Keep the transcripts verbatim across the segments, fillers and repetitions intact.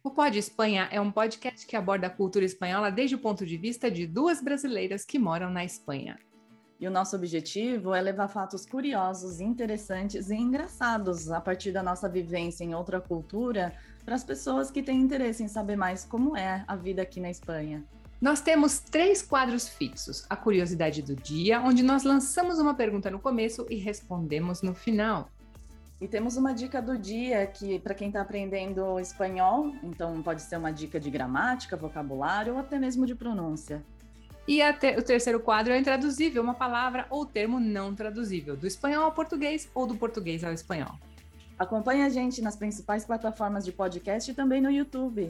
O Pod Espanha é um podcast que aborda a cultura espanhola desde o ponto de vista de duas brasileiras que moram na Espanha. E o nosso objetivo é levar fatos curiosos, interessantes e engraçados a partir da nossa vivência em outra cultura para as pessoas que têm interesse em saber mais como é a vida aqui na Espanha. Nós temos três quadros fixos: a curiosidade do dia, onde nós lançamos uma pergunta no começo e respondemos no final. E temos uma dica do dia que, para quem está aprendendo espanhol, então pode ser uma dica de gramática, vocabulário ou até mesmo de pronúncia. E te- o terceiro quadro é intraduzível, uma palavra ou termo não traduzível, do espanhol ao português ou do português ao espanhol. Acompanhe a gente nas principais plataformas de podcast e também no YouTube.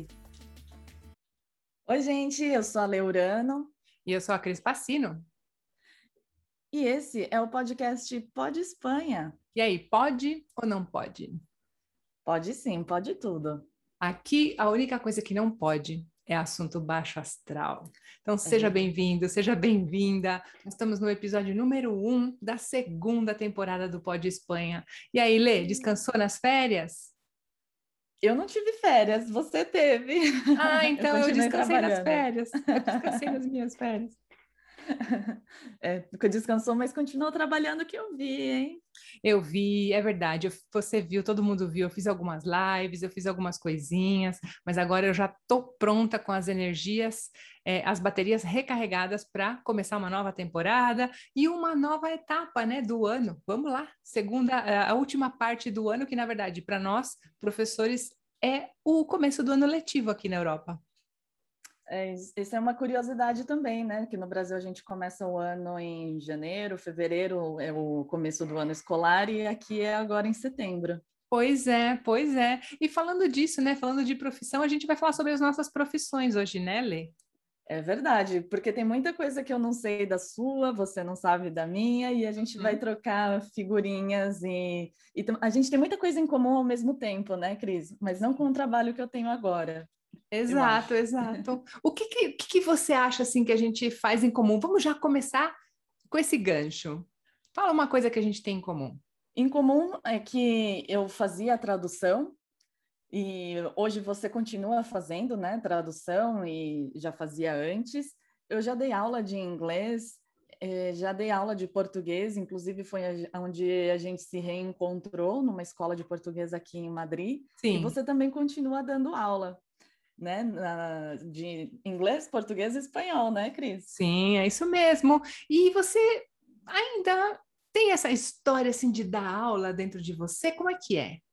Oi, gente, eu sou a Leurano. E eu sou a Cris Passino. E esse é o podcast Pod Espanha. E aí, pode ou não pode? Pode sim, pode tudo. Aqui, a única coisa que não pode é assunto baixo astral. Então, seja bem-vindo, seja bem-vinda. Nós estamos no episódio número um da segunda temporada do Pod Espanha. E aí, Lê, descansou nas férias? Eu não tive férias, você teve. Ah, então eu, eu descansei nas férias. Eu descansei nas minhas férias. É, descansou, mas continuou trabalhando, que eu vi, hein? Eu vi, é verdade, eu, você viu, todo mundo viu, eu fiz algumas lives, eu fiz algumas coisinhas, mas agora eu já estou pronta com as energias, é, as baterias recarregadas para começar uma nova temporada e uma nova etapa, né, do ano. Vamos lá, segunda, a última parte do ano, que na verdade, para nós, professores, é o começo do ano letivo aqui na Europa. É, isso é uma curiosidade também, né? Que no Brasil a gente começa o ano em janeiro, fevereiro é o começo do ano escolar e aqui é agora em setembro. Pois é, pois é. E falando disso, né? Falando de profissão, a gente vai falar sobre as nossas profissões hoje, né, Lê? É verdade, porque tem muita coisa que eu não sei da sua, você não sabe da minha, e a gente vai trocar figurinhas e, e a gente tem muita coisa em comum ao mesmo tempo, né, Cris? Mas não com o trabalho que eu tenho agora. Exato, exato. O que, que, que você acha assim que a gente faz em comum? Vamos já começar com esse gancho. Fala uma coisa que a gente tem em comum. Em comum é que eu fazia tradução e hoje você continua fazendo, né, tradução e já fazia antes. Eu já dei aula de inglês, eh, já dei aula de português, inclusive foi onde a gente se reencontrou numa escola de português aqui em Madrid. Sim. E você também continua dando aula, né, na, de inglês, português e espanhol, né, Cris? Sim, é isso mesmo. E você ainda tem essa história assim de dar aula dentro de você? Como é que é?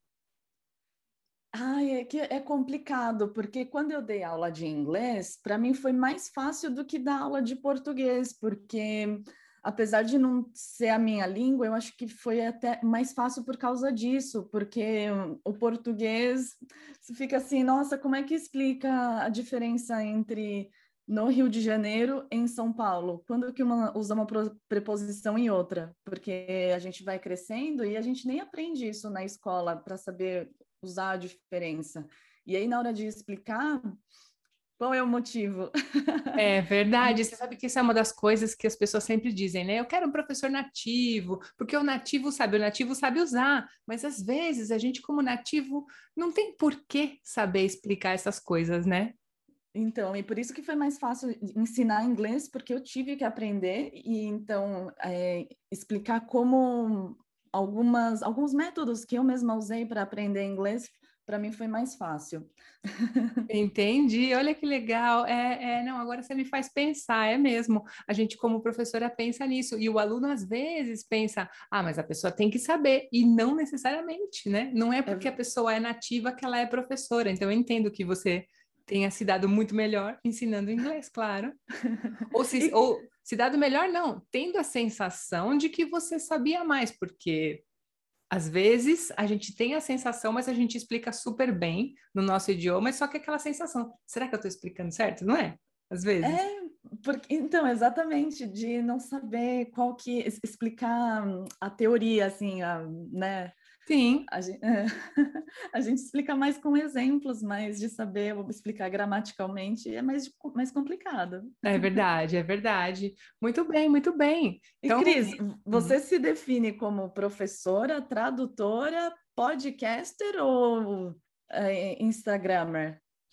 Ai, é que é complicado, porque quando eu dei aula de inglês, para mim foi mais fácil do que dar aula de português, porque apesar de não ser a minha língua, eu acho que foi até mais fácil por causa disso, porque o português você fica assim, nossa, como é que explica a diferença entre no Rio de Janeiro e em São Paulo? Quando que uma usa uma preposição em outra? Porque a gente vai crescendo e a gente nem aprende isso na escola para saber usar a diferença. E aí, na hora de explicar, qual é o motivo? É verdade, você sabe que isso é uma das coisas que as pessoas sempre dizem, né? Eu quero um professor nativo, porque o nativo sabe, o nativo sabe usar, mas às vezes a gente, como nativo, não tem por que saber explicar essas coisas, né? Então, e por isso que foi mais fácil ensinar inglês, porque eu tive que aprender e então é, explicar como algumas alguns métodos que eu mesma usei para aprender inglês, para mim foi mais fácil. Entendi, olha que legal. É, é, não, agora você me faz pensar, é mesmo. A gente, como professora, pensa nisso, e o aluno às vezes pensa, ah, mas a pessoa tem que saber, e não necessariamente, né? Não é porque É... a pessoa é nativa que ela é professora. Então, eu entendo que você tenha se dado muito melhor ensinando inglês, claro. Ou se, e... ou se dado melhor, não, tendo a sensação de que você sabia mais, porque às vezes a gente tem a sensação, mas a gente explica super bem no nosso idioma, só que aquela sensação, será que eu estou explicando certo? Não é? Às vezes. É, porque, então, exatamente, de não saber qual que, explicar a teoria, assim, a, né? Sim. A gente, é, a gente explica mais com exemplos, mas de saber explicar gramaticalmente é mais, mais complicado. É verdade, é verdade. Muito bem, muito bem. E, Então, Cris, você se define como professora, tradutora, podcaster ou é, Instagrammer?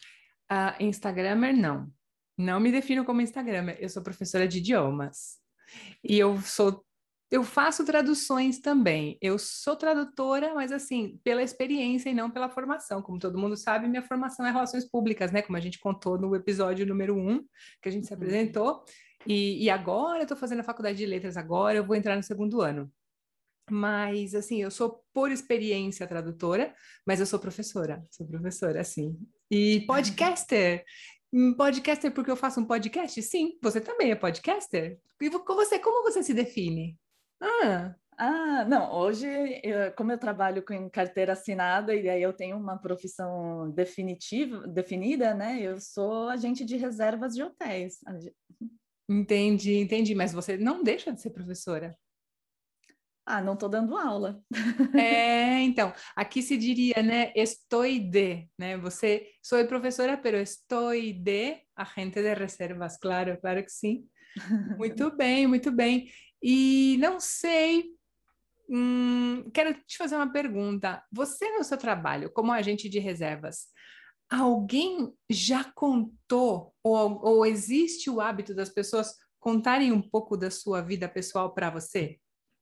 Ah, Instagrammer, não. Não me defino como Instagrammer. Eu sou professora de idiomas. E eu sou, eu faço traduções também. Eu sou tradutora, mas assim, pela experiência e não pela formação. Como todo mundo sabe, minha formação é relações públicas, né? Como a gente contou no episódio número um, que a gente se Uhum. apresentou. E, e agora eu estou fazendo a faculdade de letras, agora eu vou entrar no segundo ano. Mas, assim, eu sou por experiência tradutora, mas eu sou professora, sou professora, assim. E podcaster. Hum, Podcaster porque eu faço um podcast? Sim, você também é podcaster? E vo- com você, como você se define? Ah, Ah, não, hoje, eu- como eu trabalho com carteira assinada e aí eu tenho uma profissão definitiva, definida, né? Eu sou agente de reservas de hotéis. Ag- entendi, entendi. Mas você não deixa de ser professora. Ah, não estou dando aula. É, então, aqui se diria, né, estoy de, né? Você, sou professora, pero estoy de agente de reservas, claro, claro que sim. Muito bem, muito bem. E não sei, hum, quero te fazer uma pergunta. Você, no seu trabalho como agente de reservas, alguém já contou, ou, ou existe o hábito das pessoas contarem um pouco da sua vida pessoal para você?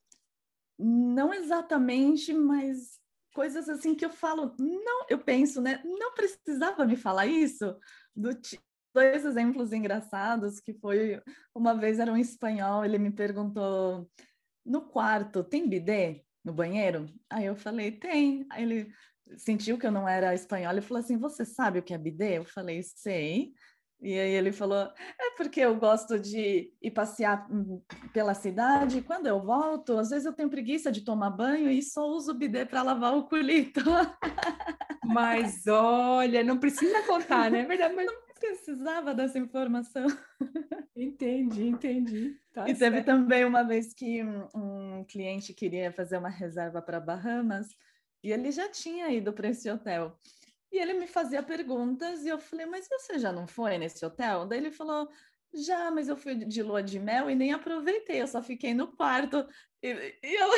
Não exatamente, mas coisas assim que eu falo, não, eu penso, né? Não precisava me falar isso. Do ti- Dois exemplos engraçados que foi uma vez era um espanhol, ele me perguntou no quarto tem bidê no banheiro? Aí eu falei tem. Aí ele sentiu que eu não era espanhola e falou assim: você sabe o que é bidê? Eu falei sei. E aí ele falou: é porque eu gosto de ir passear hum, pela cidade. E quando eu volto, às vezes eu tenho preguiça de tomar banho e só uso o bidê para lavar o culito. Mas olha, não precisa contar, né? É verdade, mas Precisava dessa informação. entendi, entendi. Tá E teve certo. também uma vez que um, um cliente queria fazer uma reserva para Bahamas e ele já tinha ido para esse hotel. E ele me fazia perguntas e eu falei, mas você já não foi nesse hotel? Daí ele falou, já, mas eu fui de lua de mel e nem aproveitei, eu só fiquei no quarto. E, e eu-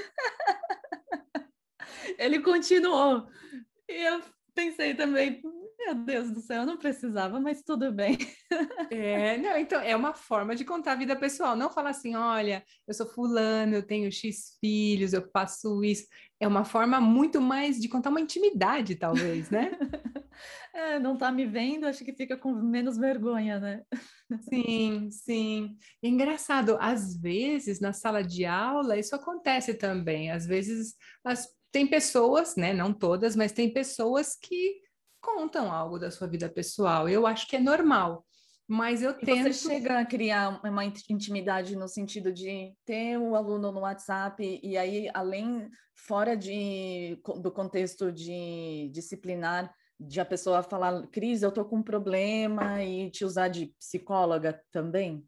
ele continuou. E eu pensei também, meu Deus do céu, eu não precisava, mas tudo bem. É, não, então é uma forma de contar a vida pessoal, não falar assim, olha, eu sou fulano, eu tenho X filhos, eu faço isso. É uma forma muito mais de contar uma intimidade, talvez, né? É, não tá me vendo, acho que fica com menos vergonha, né? Sim, sim. E engraçado, às vezes na sala de aula isso acontece também. Às vezes as, tem pessoas, né, não todas, mas tem pessoas que contam algo da sua vida pessoal. Eu acho que é normal, mas eu E você tento. chega a criar uma intimidade no sentido de ter o aluno no WhatsApp e aí, além, fora de, do contexto de disciplinar, de a pessoa falar, Cris, eu tô com um problema e te usar de psicóloga também?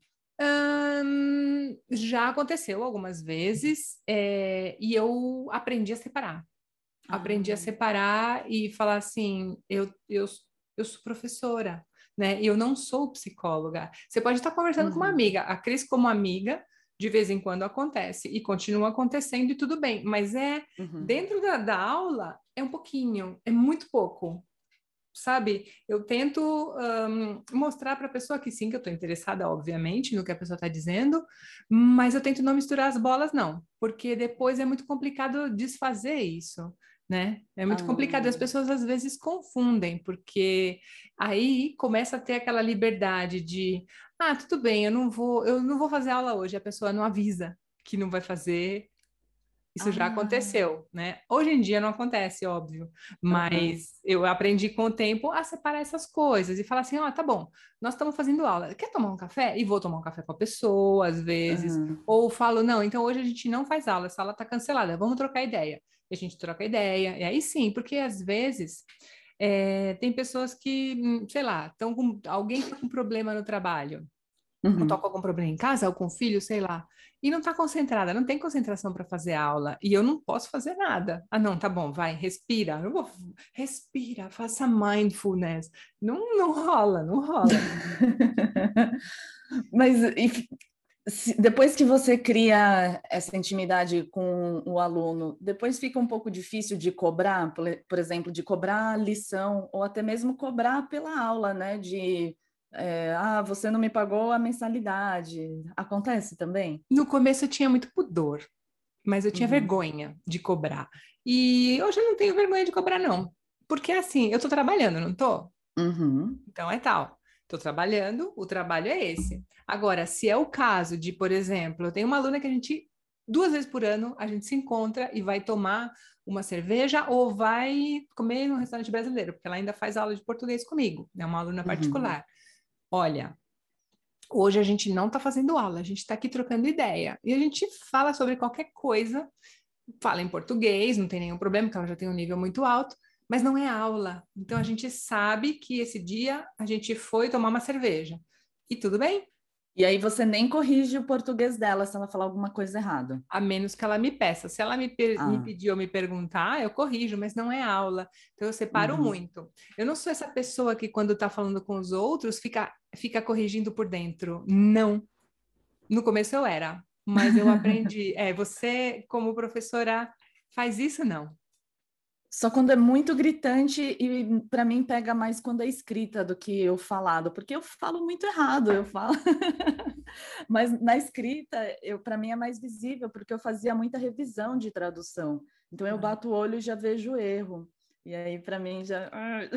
Ahn, já aconteceu algumas vezes, é, e eu aprendi a separar. Aprendi a Ah, separar e falar assim: eu, eu, eu sou professora, né? E eu não sou psicóloga. Você pode estar conversando com uma uhum, amiga, a Cris, como amiga, de vez em quando acontece, e continua acontecendo e tudo bem, mas é uhum. dentro da, da aula, é um pouquinho, é muito pouco. Sabe, eu tento um, mostrar para a pessoa que sim, que eu estou interessada, obviamente, no que a pessoa está dizendo, mas eu tento não misturar as bolas, não, porque depois é muito complicado desfazer isso, né? É muito complicado, as Ah. pessoas às vezes confundem, porque aí começa a ter aquela liberdade de, ah, tudo bem, eu não vou, eu não vou fazer aula hoje, a pessoa não avisa que não vai fazer. Isso já Ah, aconteceu, né? Hoje em dia não acontece, óbvio, aham, mas eu aprendi com o tempo a separar essas coisas e falar assim: ó, oh, tá bom, nós estamos fazendo aula, quer tomar um café? E vou tomar um café com a pessoa, às vezes, aham. ou falo: não, então hoje a gente não faz aula, essa aula tá cancelada, vamos trocar ideia. E a gente troca ideia, e aí sim, porque às vezes é, tem pessoas que, hum, sei lá, estão com alguém tá com problema no trabalho ou tá Uhum. com algum problema em casa, ou com o filho, sei lá, e não tá concentrada, não tem concentração para fazer aula, e eu não posso fazer nada. Ah, não, tá bom, vai, respira. Eu vou, respira, faça mindfulness. Não, não rola, não rola. Mas e Se- depois que você cria essa intimidade com o aluno, depois fica um pouco difícil de cobrar, por, por exemplo, de cobrar a lição, ou até mesmo cobrar pela aula, né? De, é, ah, você não me pagou a mensalidade. Acontece também? No começo eu tinha muito pudor, mas eu tinha Uhum, vergonha de cobrar. E hoje eu não tenho vergonha de cobrar, não. Porque assim, eu tô trabalhando, não tô? uhum, Então é tal. Estou trabalhando, o trabalho é esse. Agora, se é o caso de, por exemplo, eu tenho uma aluna que a gente, duas vezes por ano, a gente se encontra e vai tomar uma cerveja ou vai comer no restaurante brasileiro, porque ela ainda faz aula de português comigo, é uma aluna uhum. particular. Olha, hoje a gente não está fazendo aula, a gente está aqui trocando ideia. E a gente fala sobre qualquer coisa, fala em português, não tem nenhum problema, porque ela já tem um nível muito alto, mas não é aula. Então a gente sabe que esse dia a gente foi tomar uma cerveja. E tudo bem, E aí você nem corrige o português dela se ela falar alguma coisa errada. a menos que ela me peça. Se ela me, per- me Ah, pedir ou me perguntar, eu corrijo, mas não é aula. Então eu separo uhum. muito. Eu não sou essa pessoa que, quando está falando com os outros, fica, fica corrigindo por dentro. Não. No começo eu era, mas eu aprendi. É, você, como professora, faz isso, não. Só quando é muito gritante e para mim pega mais quando é escrita do que o falado, porque eu falo muito errado, eu falo. Mas na escrita, eu para mim é mais visível, porque eu fazia muita revisão de tradução. Então eu bato o olho e já vejo o erro. E aí para mim já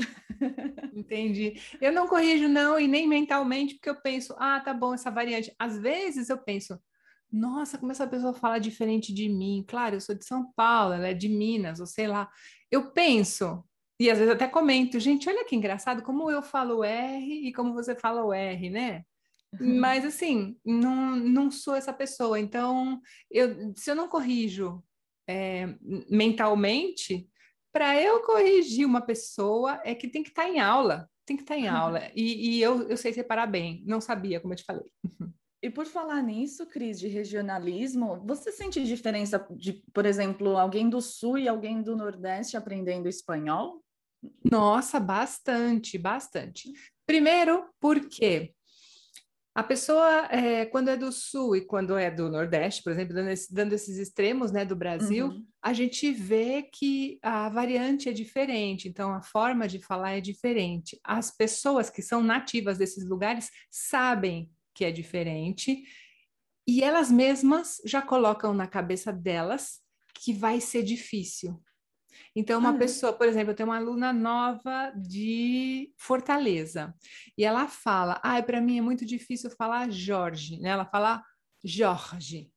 Entendi. Eu não corrijo, não, e nem mentalmente, porque eu penso, ah, tá bom, essa variante. Às vezes eu penso, nossa, como essa pessoa fala diferente de mim. Claro, eu sou de São Paulo, ela é de Minas, ou sei lá. Eu penso, e às vezes até comento, gente, olha que engraçado como eu falo R e como você fala o R, né? Mas assim, não, não sou essa pessoa. Então, eu, se eu não corrijo é, mentalmente, para eu corrigir uma pessoa é que tem que estar em aula. Tem que estar em aula. E, e eu, eu sei separar bem. Não sabia, como eu te falei. E por falar nisso, Cris, de regionalismo, você sente diferença de, por exemplo, alguém do Sul e alguém do Nordeste aprendendo espanhol? Nossa, bastante, bastante. Primeiro, porque a pessoa, é, quando é do Sul e quando é do Nordeste, por exemplo, dando, esse- dando esses extremos, né, do Brasil, Uhum, a gente vê que a variante é diferente, então a forma de falar é diferente. As pessoas que são nativas desses lugares sabem que é diferente e elas mesmas já colocam na cabeça delas que vai ser difícil. Então, ah, uma é? pessoa, por exemplo, eu tenho uma aluna nova de Fortaleza e ela fala: "Ah, para mim é muito difícil falar Jorge", né? Ela fala Jorge.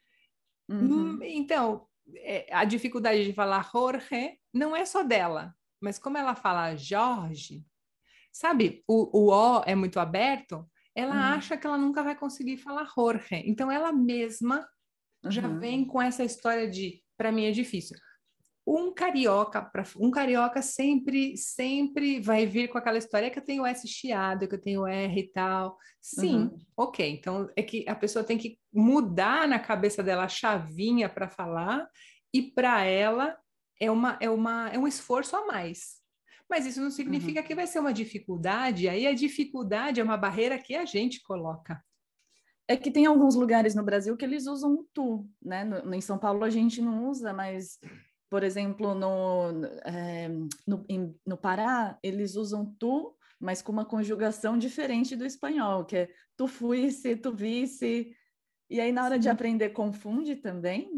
Hum, Uhum, Então, é, a dificuldade de falar Jorge não é só dela, mas como ela fala Jorge, sabe? O, o O é muito aberto, ela uhum, acha que ela nunca vai conseguir falar Jorge. Então, ela mesma já uhum. vem com essa história de: para mim é difícil. Um carioca, pra, um carioca sempre, sempre vai vir com aquela história que eu tenho S chiado, que eu tenho R e tal. Sim, Uhum. ok. Então é que a pessoa tem que mudar na cabeça dela a chavinha para falar, e para ela é uma, é uma, é um esforço a mais. Mas isso não significa Uhum. que vai ser uma dificuldade, aí a dificuldade é uma barreira que a gente coloca. É que tem alguns lugares no Brasil que eles usam o tu, né? No, em São Paulo a gente não usa, mas, por exemplo, no, é, no, em, no Pará, eles usam tu, mas com uma conjugação diferente do espanhol, que é tu fuisse, tu visse. E aí, na hora de Sim. aprender, confunde também?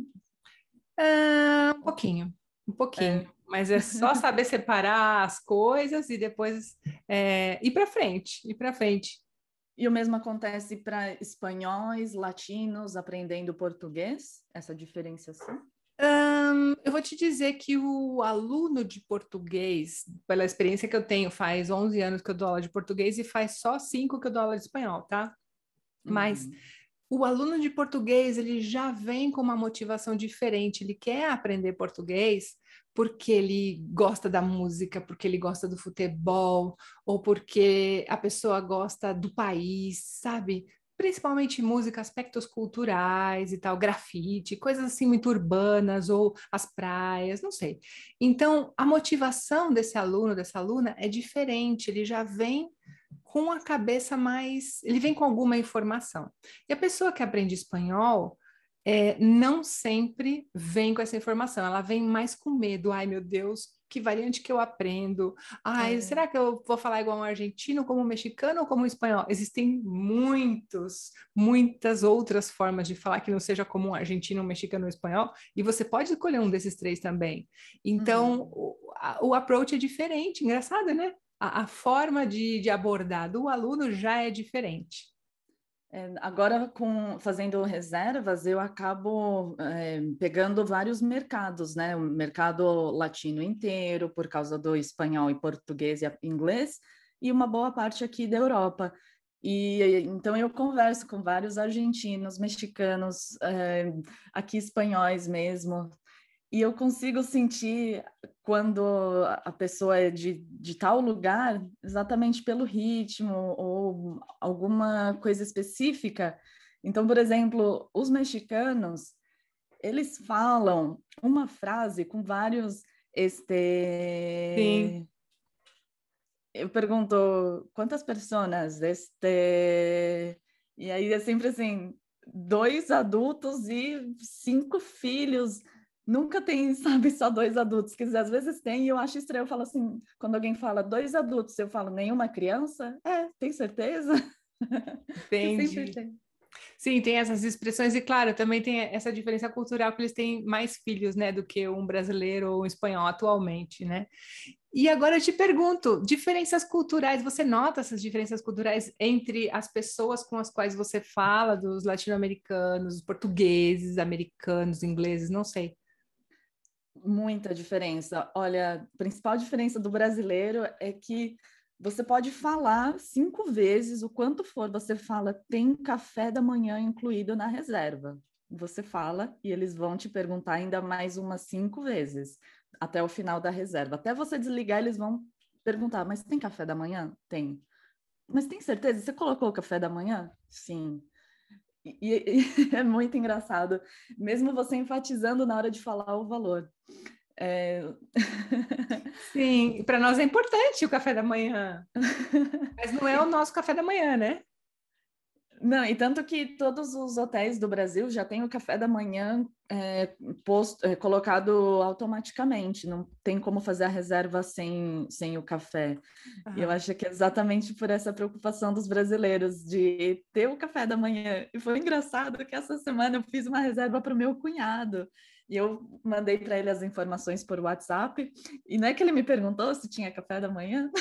Ah, um pouquinho, um pouquinho. É. Mas é só saber separar as coisas e depois é, ir para frente, ir para frente. E o mesmo acontece para espanhóis, latinos aprendendo português, essa diferenciação? Hum, eu vou te dizer que o aluno de português, pela experiência que eu tenho, faz onze anos que eu dou aula de português e faz só cinco que eu dou aula de espanhol, tá? Mas Uhum, o aluno de português, ele já vem com uma motivação diferente, ele quer aprender português porque ele gosta da música, porque ele gosta do futebol, ou porque a pessoa gosta do país, sabe? Principalmente música, aspectos culturais e tal, grafite, coisas assim muito urbanas, ou as praias, não sei. Então, a motivação desse aluno, dessa aluna, é diferente, ele já vem com a cabeça mais... Ele vem com alguma informação. E a pessoa que aprende espanhol é, não sempre vem com essa informação. Ela vem mais com medo. Ai, meu Deus, que variante que eu aprendo? Ai, É. será que eu vou falar igual um argentino, como um mexicano ou como um espanhol? Existem muitos, muitas outras formas de falar que não seja como um argentino, um mexicano ou um espanhol. E você pode escolher um desses três também. Então, Uhum. o, a, o approach é diferente. Engraçado, né? A, a forma de, de abordar do aluno já é diferente. É, agora, com, fazendo reservas, eu acabo é, pegando vários mercados, né? O mercado latino inteiro, por causa do espanhol e português e inglês, e uma boa parte aqui da Europa. E então eu converso com vários argentinos, mexicanos, é, aqui espanhóis mesmo, e eu consigo sentir quando a pessoa é de, de tal lugar, exatamente pelo ritmo ou alguma coisa específica. Então, por exemplo, os mexicanos, eles falam uma frase com vários, Sim. este... Eu pergunto, quantas pessoas? Este... E aí é sempre assim, dois adultos e cinco filhos. Nunca tem, sabe, só dois adultos. Quer dizer, às vezes tem, e eu acho estranho. Eu falo assim, quando alguém fala dois adultos, eu falo, nenhuma criança? É, tem certeza? Que sempre Entendi. tem. Sim, tem essas expressões, e claro, também tem essa diferença cultural que eles têm mais filhos, né, do que um brasileiro ou um espanhol atualmente, né? E agora eu te pergunto, diferenças culturais, você nota essas diferenças culturais entre as pessoas com as quais você fala, dos latino-americanos, portugueses, americanos, ingleses, não sei. Muita diferença. Olha, a principal diferença do brasileiro é que você pode falar cinco vezes o quanto for, você fala, tem café da manhã incluído na reserva. Você fala e eles vão te perguntar ainda mais umas cinco vezes até o final da reserva. Até você desligar, eles vão perguntar, mas tem café da manhã? Tem. Mas tem certeza? Você colocou o café da manhã? Sim. E, e é muito engraçado, mesmo você enfatizando na hora de falar o valor. É... Sim, para nós é importante o café da manhã, mas não é o nosso café da manhã, né? Não, e tanto que todos os hotéis do Brasil já têm o café da manhã é, posto, é, colocado automaticamente, não tem como fazer a reserva sem, sem o café. E eu Aham. acho que é exatamente por essa preocupação dos brasileiros de ter o café da manhã. E foi engraçado que essa semana eu fiz uma reserva para o meu cunhado. E eu mandei para ele as informações por WhatsApp, e não é que ele me perguntou se tinha café da manhã?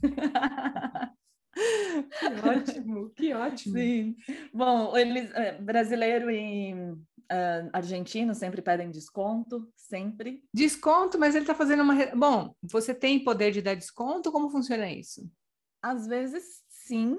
Que ótimo, que ótimo. Sim. Bom, eles, é, brasileiro e é, argentino sempre pedem desconto, sempre. Desconto, mas ele está fazendo uma. re- Bom, você tem poder de dar desconto? Como funciona isso? Às vezes, sim,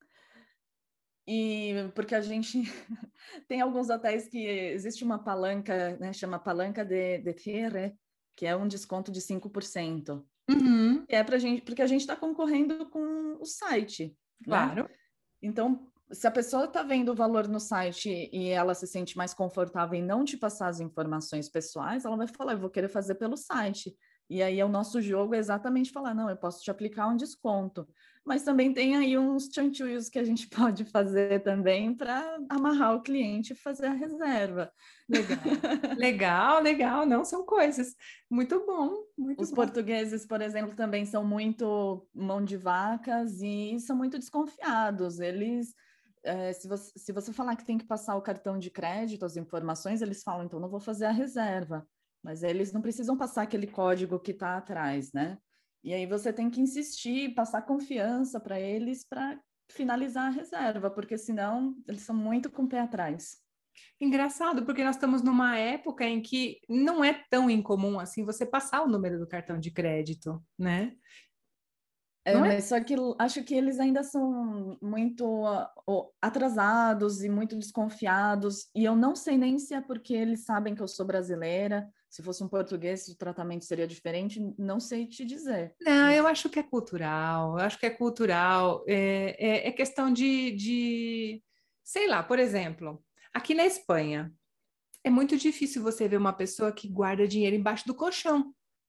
e porque a gente tem alguns hotéis que existe uma palanca, né, chama palanca de, de cierre, que é um desconto de cinco por cento. Uhum, E é pra gente, porque a gente está concorrendo com o site, né? claro. Então, se a pessoa está vendo o valor no site e ela se sente mais confortável em não te passar as informações pessoais, ela vai falar, eu vou querer fazer pelo site. E aí, o nosso jogo é exatamente falar, não, eu posso te aplicar um desconto. Mas também tem aí uns chanchulhos que a gente pode fazer também para amarrar o cliente e fazer a reserva. Legal. Legal, legal. Não são coisas. Muito bom, muito Os bom. portugueses, por exemplo, também são muito mão de vacas e são muito desconfiados. Eles, é, se você, se você falar que tem que passar o cartão de crédito, as informações, eles falam, então não vou fazer a reserva. Mas eles não precisam passar aquele código que está atrás, né? E aí você tem que insistir, passar confiança para eles para finalizar a reserva, porque senão eles são muito com o pé atrás. Engraçado, porque nós estamos numa época em que não é tão incomum assim você passar o número do cartão de crédito, né? É, Não é? mas só que acho que eles ainda são muito uh, atrasados e muito desconfiados, e eu não sei nem se é porque eles sabem que eu sou brasileira, se fosse um português o tratamento seria diferente, não sei te dizer. Não, eu Mas acho que é cultural, eu acho que é cultural, é, é, é questão de, de, sei lá, por exemplo, aqui na Espanha, é muito difícil você ver uma pessoa que guarda dinheiro embaixo do colchão.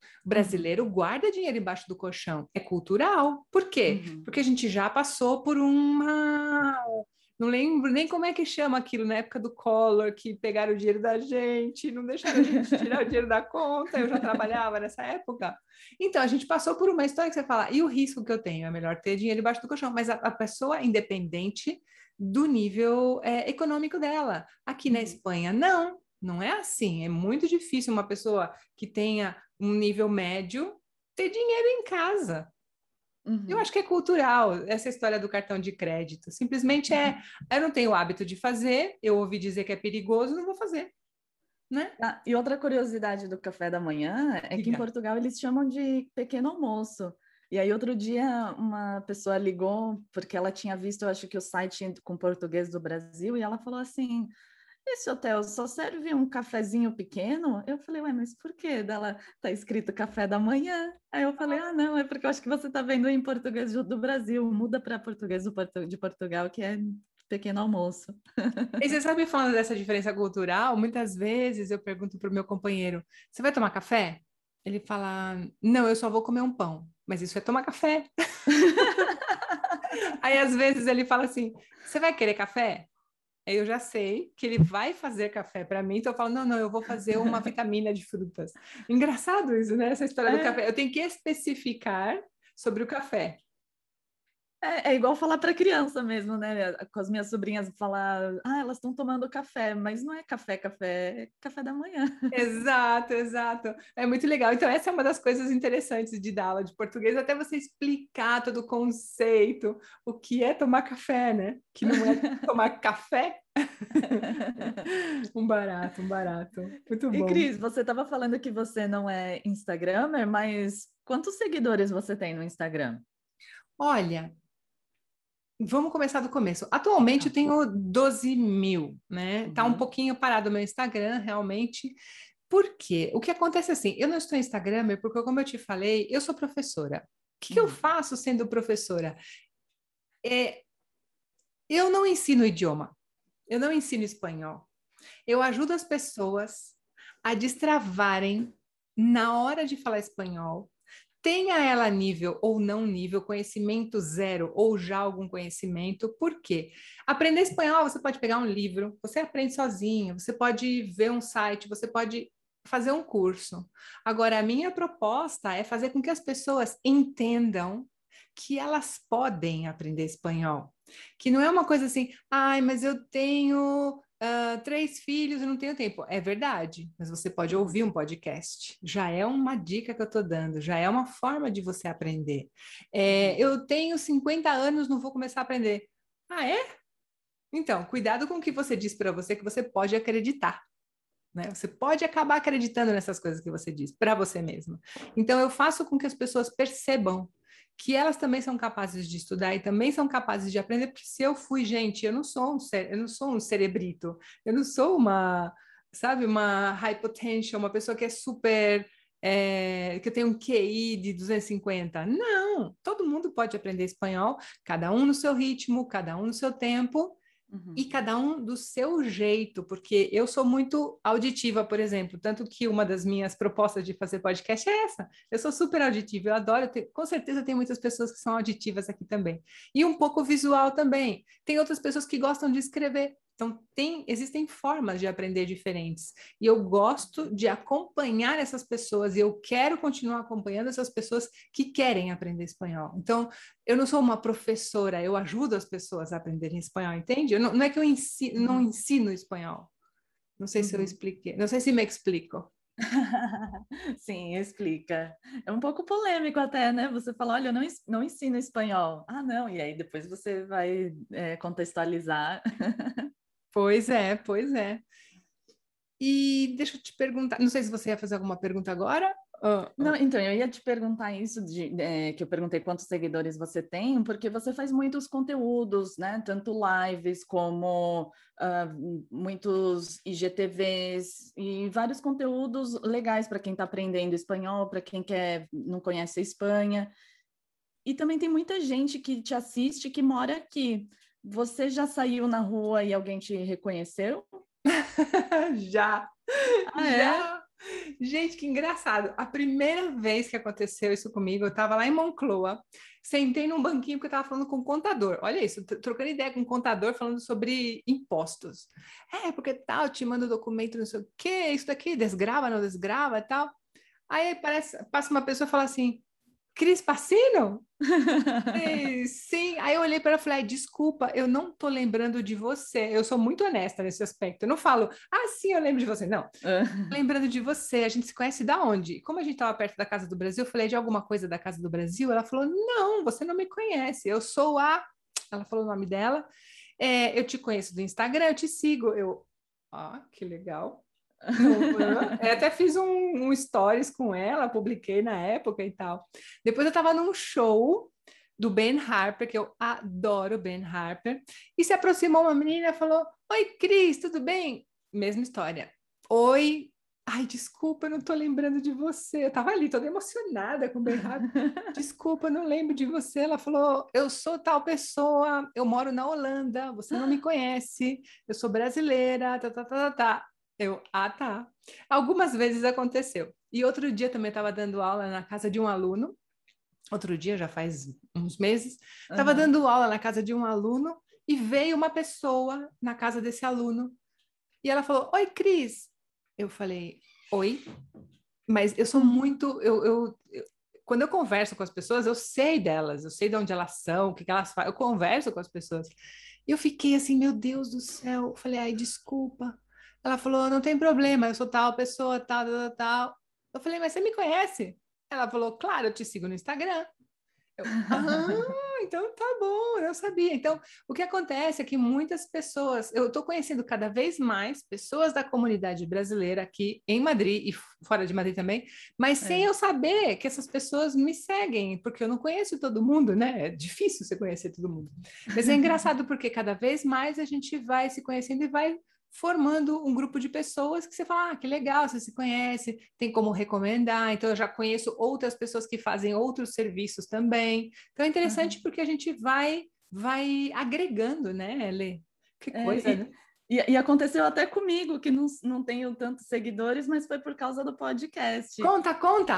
O brasileiro uhum. guarda dinheiro embaixo do colchão. É cultural. Por quê? Uhum. Porque a gente já passou por uma... Não lembro nem como é que chama aquilo na época do Collor, que pegaram o dinheiro da gente, não deixaram a gente tirar o dinheiro da conta. Eu já trabalhava nessa época. Então, a gente passou por uma história que você fala, e o risco que eu tenho? É melhor ter dinheiro embaixo do colchão. Mas a, a pessoa é independente do nível é, econômico dela. Aqui uhum. na Espanha, não. Não é assim. É muito difícil uma pessoa que tenha um nível médio ter dinheiro em casa. Uhum. Eu acho que é cultural, essa história do cartão de crédito. Simplesmente é, eu não tenho o hábito de fazer, eu ouvi dizer que é perigoso, não vou fazer. Né? Ah, e outra curiosidade do café da manhã é Diga. que em Portugal eles chamam de pequeno almoço. E aí outro dia uma pessoa ligou, porque ela tinha visto, eu acho que o site com português do Brasil, e ela falou assim... Esse hotel só serve um cafezinho pequeno? Eu falei, ué, mas por quê? Dela tá escrito café da manhã. Aí eu falei, ah, não, é porque eu acho que você tá vendo em português do Brasil. Muda para português de Portugal, que é pequeno almoço. E você sabe, falando dessa diferença cultural, muitas vezes eu pergunto pro meu companheiro, você vai tomar café? Ele fala, não, eu só vou comer um pão. Mas isso é tomar café. Aí, às vezes, ele fala assim, você vai querer café? Aí eu já sei que ele vai fazer café para mim, então eu falo, não, não, eu vou fazer uma vitamina de frutas. Engraçado isso, né? Essa história é. do café. Eu tenho que especificar sobre o café. É, é igual falar para criança mesmo, né? Com as minhas sobrinhas falar, ah, elas estão tomando café, mas não é café, café, é café da manhã. Exato, exato. É muito legal. Então, essa é uma das coisas interessantes de dar aula de português, até você explicar todo o conceito, o que é tomar café, né? Que não é tomar café. Um barato, um barato. Muito bom. E Cris, você estava falando que você não é Instagramer, mas quantos seguidores você tem no Instagram? Olha, vamos começar do começo. Atualmente eu tenho doze mil, né? Uhum. Tá um pouquinho parado o meu Instagram, realmente. Por quê? O que acontece assim, eu não estou Instagramer porque, como eu te falei, eu sou professora. O que, uhum. que eu faço sendo professora? É, eu não ensino idioma. Eu não ensino espanhol. Eu ajudo as pessoas a destravarem na hora de falar espanhol, tenha ela nível ou não nível, conhecimento zero ou já algum conhecimento. Por quê? Aprender espanhol, você pode pegar um livro, você aprende sozinho, você pode ver um site, você pode fazer um curso. Agora, a minha proposta é fazer com que as pessoas entendam que elas podem aprender espanhol. Que não é uma coisa assim, ai, mas eu tenho... Uh, três filhos e não tenho tempo. É verdade, mas você pode ouvir um podcast. Já é uma dica que eu estou dando, já é uma forma de você aprender. É, eu tenho cinquenta anos, não vou começar a aprender. Ah, é? Então, cuidado com o que você diz para você, que você pode acreditar. Né? Você pode acabar acreditando nessas coisas que você diz para você mesma. Então, eu faço com que as pessoas percebam que elas também são capazes de estudar e também são capazes de aprender, porque se eu fui, gente, eu não sou um, eu não sou um cerebrito, eu não sou uma, sabe, uma high potential, uma pessoa que é super, é, que tem um Q I de duzentos e cinquenta. Não, todo mundo pode aprender espanhol, cada um no seu ritmo, cada um no seu tempo, Uhum. e cada um do seu jeito, porque eu sou muito auditiva, por exemplo, tanto que uma das minhas propostas de fazer podcast é essa. Eu sou super auditiva, eu adoro, ter, com certeza tem muitas pessoas que são auditivas aqui também. E um pouco visual também. Tem outras pessoas que gostam de escrever. Então, tem, existem formas de aprender diferentes. E eu gosto de acompanhar essas pessoas, e eu quero continuar acompanhando essas pessoas que querem aprender espanhol. Então, eu não sou uma professora, eu ajudo as pessoas a aprenderem espanhol, entende? Eu não, não é que eu ensino, uhum. não ensino espanhol. Não sei uhum. se eu expliquei, não sei se me explico. Sim, explica. É um pouco polêmico até, né? Você fala, olha, eu não, não ensino espanhol. Ah, não, e aí depois você vai é, contextualizar. Pois é, pois é. E deixa eu te perguntar, não sei se você ia fazer alguma pergunta agora. Oh, oh. Não, então, eu ia te perguntar isso, de, é, que eu perguntei quantos seguidores você tem, porque você faz muitos conteúdos, né? Tanto lives como uh, muitos I G T Vs e vários conteúdos legais para quem está aprendendo espanhol, para quem quer, não conhece a Espanha. E também tem muita gente que te assiste que mora aqui. Você já saiu na rua e alguém te reconheceu? Já, ah, já, é? Gente, que engraçado. A primeira vez que aconteceu isso comigo, eu estava lá em Moncloa, sentei num banquinho porque eu estava falando com o contador. Olha isso, trocando ideia com o contador, falando sobre impostos. É, porque tal, te manda o documento, não sei o quê, isso daqui, desgrava, não desgrava e tal. Aí parece, passa uma pessoa e fala assim, Cris Passino? Ei, sim, aí eu olhei para ela e falei, "Ai, desculpa, eu não tô lembrando de você. Eu sou muito honesta nesse aspecto. Eu não falo, ah, sim, eu lembro de você. Não, lembrando de você, a gente se conhece da onde? Como a gente estava perto da Casa do Brasil, eu falei de alguma coisa da Casa do Brasil. Ela falou, não, você não me conhece. Eu sou a. Ela falou o nome dela. É, eu te conheço do Instagram, eu te sigo. Eu, ah, que legal. Eu, eu até fiz um, um stories com ela, publiquei na época e tal. Depois eu estava num show do Ben Harper, que eu adoro Ben Harper, e se aproximou uma menina e falou: Oi, Cris, tudo bem? Mesma história. Oi, ai, desculpa, eu não tô lembrando de você. Eu tava ali toda emocionada com o Ben Harper. Desculpa, eu não lembro de você. Ela falou: Eu sou tal pessoa, eu moro na Holanda, você não me conhece, eu sou brasileira, tá, tá, tá, tá, tá. Eu, ah, tá. Algumas vezes aconteceu. E outro dia também estava dando aula na casa de um aluno. Outro dia, já faz uns meses, estava Uhum. dando aula na casa de um aluno e veio uma pessoa na casa desse aluno. E ela falou: Oi, Cris. Eu falei: Oi. Mas eu sou muito. Eu, eu, eu, quando eu converso com as pessoas, eu sei delas, eu sei de onde elas são, o que, que elas fazem. Eu converso com as pessoas. E eu fiquei assim: Meu Deus do céu. Eu falei: Ai, desculpa. Ela falou: Não tem problema, eu sou tal pessoa, tal, tal, tal. Eu falei: Mas você me conhece? Ela falou: Claro, eu te sigo no Instagram. Eu, ah, então tá bom, eu sabia. Então, o que acontece é que muitas pessoas, eu estou conhecendo cada vez mais pessoas da comunidade brasileira aqui em Madrid e fora de Madrid também, mas sem É. eu saber que essas pessoas me seguem, porque eu não conheço todo mundo, né? É difícil você conhecer todo mundo. Mas é engraçado porque cada vez mais a gente vai se conhecendo e vai formando um grupo de pessoas que você fala, ah, que legal, você se conhece, tem como recomendar, então eu já conheço outras pessoas que fazem outros serviços também. Então é interessante Uhum. porque a gente vai vai agregando, né, Lê? Que É, coisa, né? e, e, e aconteceu até comigo, que não, não tenho tantos seguidores, mas foi por causa do podcast. Conta, conta!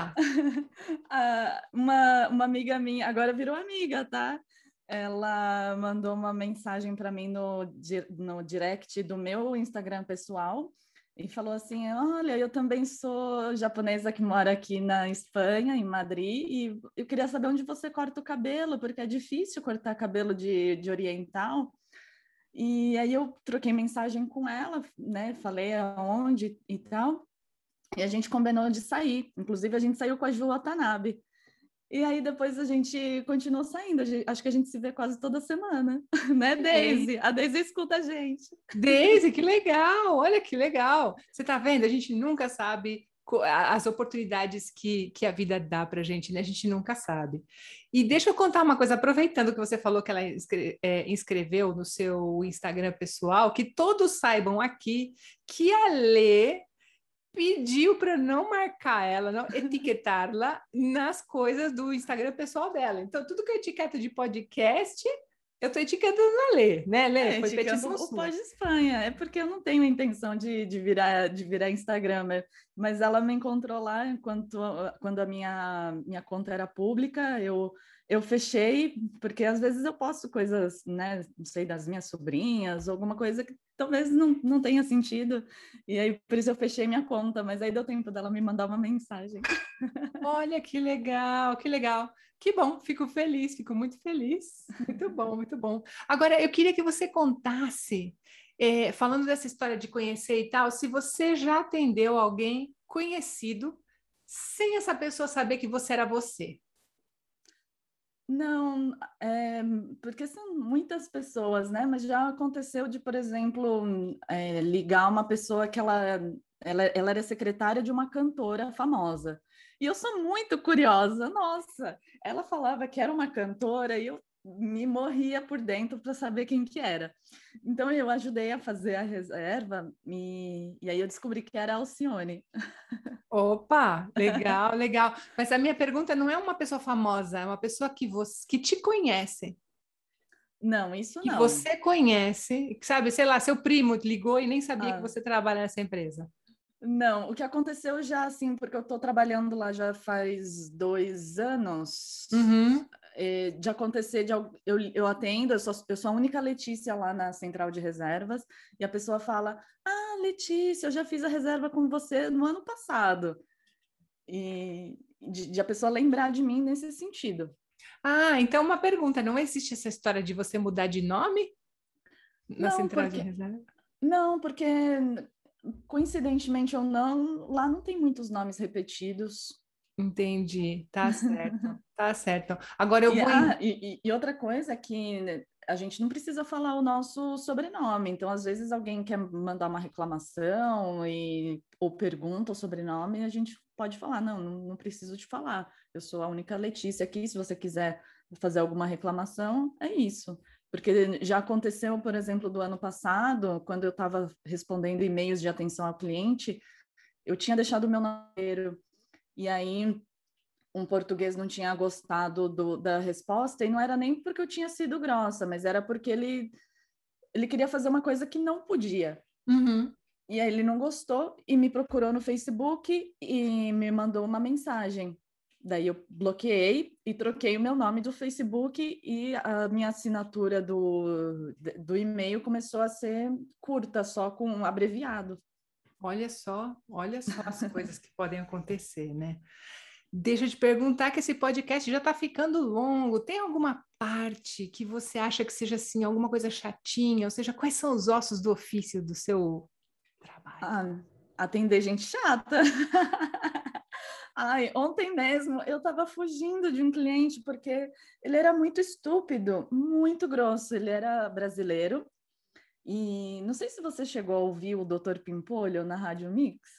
Ah, uma, uma amiga minha, agora virou amiga, tá? Ela mandou uma mensagem para mim no, di- no direct do meu Instagram pessoal e falou assim: Olha, eu também sou japonesa que mora aqui na Espanha, em Madrid, e eu queria saber onde você corta o cabelo, porque é difícil cortar cabelo de, de oriental. E aí eu troquei mensagem com ela, né? Falei aonde e tal. E a gente combinou de sair. Inclusive, a gente saiu com a Ju Watanabe. E aí depois a gente continuou saindo. A gente- acho que a gente se vê quase toda semana, né, Ei, Daisy? A Daisy escuta a gente. Daisy, que legal! Olha que legal! Você tá vendo? A gente nunca sabe co- a- as oportunidades que, que a vida dá pra gente, né? A gente nunca sabe. E deixa eu contar uma coisa, aproveitando que você falou que ela inscre- é, inscreveu no seu Instagram pessoal, que todos saibam aqui que a Lê pediu para não marcar ela, não etiquetá-la nas coisas do Instagram pessoal dela. Então, tudo que eu etiqueto de podcast, eu estou etiquetando a Lê, né, Lê? É, Foi indicando petição o sua. Pode Espanha. É porque eu não tenho intenção de, de virar de virar Instagramer, mas ela me encontrou lá enquanto quando a minha minha conta era pública, eu eu fechei porque às vezes eu posto coisas, né, não sei, das minhas sobrinhas, alguma coisa que talvez não, não tenha sentido. E aí por isso eu fechei minha conta, mas aí deu tempo dela me mandar uma mensagem. Olha que legal, que legal. Que bom, fico feliz, fico muito feliz. Muito bom, muito bom. Agora, eu queria que você contasse, eh, falando dessa história de conhecer e tal, se você já atendeu alguém conhecido sem essa pessoa saber que você era você. Não, é, porque são muitas pessoas, né? Mas já aconteceu de, por exemplo, é, ligar uma pessoa que ela, ela, ela era secretária de uma cantora famosa. E eu sou muito curiosa, nossa, ela falava que era uma cantora e eu me morria por dentro para saber quem que era. Então eu ajudei a fazer a reserva e, e aí eu descobri que era a Alcione. Opa, legal, legal. Mas a minha pergunta não é uma pessoa famosa, é uma pessoa que você que te conhece, Não, isso que não. você conhece, que sabe, sei lá, seu primo ligou e nem sabia que Ah, você trabalha nessa empresa. Não, o que aconteceu já, assim, porque eu estou trabalhando lá já faz dois anos, Uhum. é, de acontecer, de, al- eu, eu atendo, eu sou, eu sou a única Letícia lá na central de reservas, e a pessoa fala, ah, Letícia, eu já fiz a reserva com você no ano passado. E de, de a pessoa lembrar de mim nesse sentido. Ah, então uma pergunta, não existe essa história de você mudar de nome na Não, central de porque, reserva? não, porque coincidentemente ou não, lá não tem muitos nomes repetidos. Entendi, tá certo, tá certo. Agora eu E, vou ah, em... e, e outra coisa é que né, a gente não precisa falar o nosso sobrenome. Então, às vezes, alguém quer mandar uma reclamação e, ou pergunta o sobrenome, a gente pode falar, não, não, não preciso te falar. Eu sou a única Letícia aqui, se você quiser fazer alguma reclamação, é isso. Porque já aconteceu, por exemplo, do ano passado, quando eu estava respondendo e-mails de atenção ao cliente, eu tinha deixado o meu número, e aí um português não tinha gostado do, da resposta, e não era nem porque eu tinha sido grossa, mas era porque ele, ele queria fazer uma coisa que não podia. Uhum. E aí ele não gostou e me procurou no Facebook e me mandou uma mensagem. Daí eu bloqueei e troquei o meu nome do Facebook e a minha assinatura do, do e-mail começou a ser curta, só com um abreviado. Olha só, olha só as coisas que podem acontecer, né? Deixa eu te perguntar que esse podcast já está ficando longo. Tem alguma parte que você acha que seja assim, alguma coisa chatinha? Ou seja, quais são os ossos do ofício do seu trabalho? Ah, atender gente chata. Ai, ontem mesmo eu estava fugindo de um cliente porque ele era muito estúpido, muito grosso. Ele era brasileiro e não sei se você chegou a ouvir o doutor Pimpolho na Rádio Mix.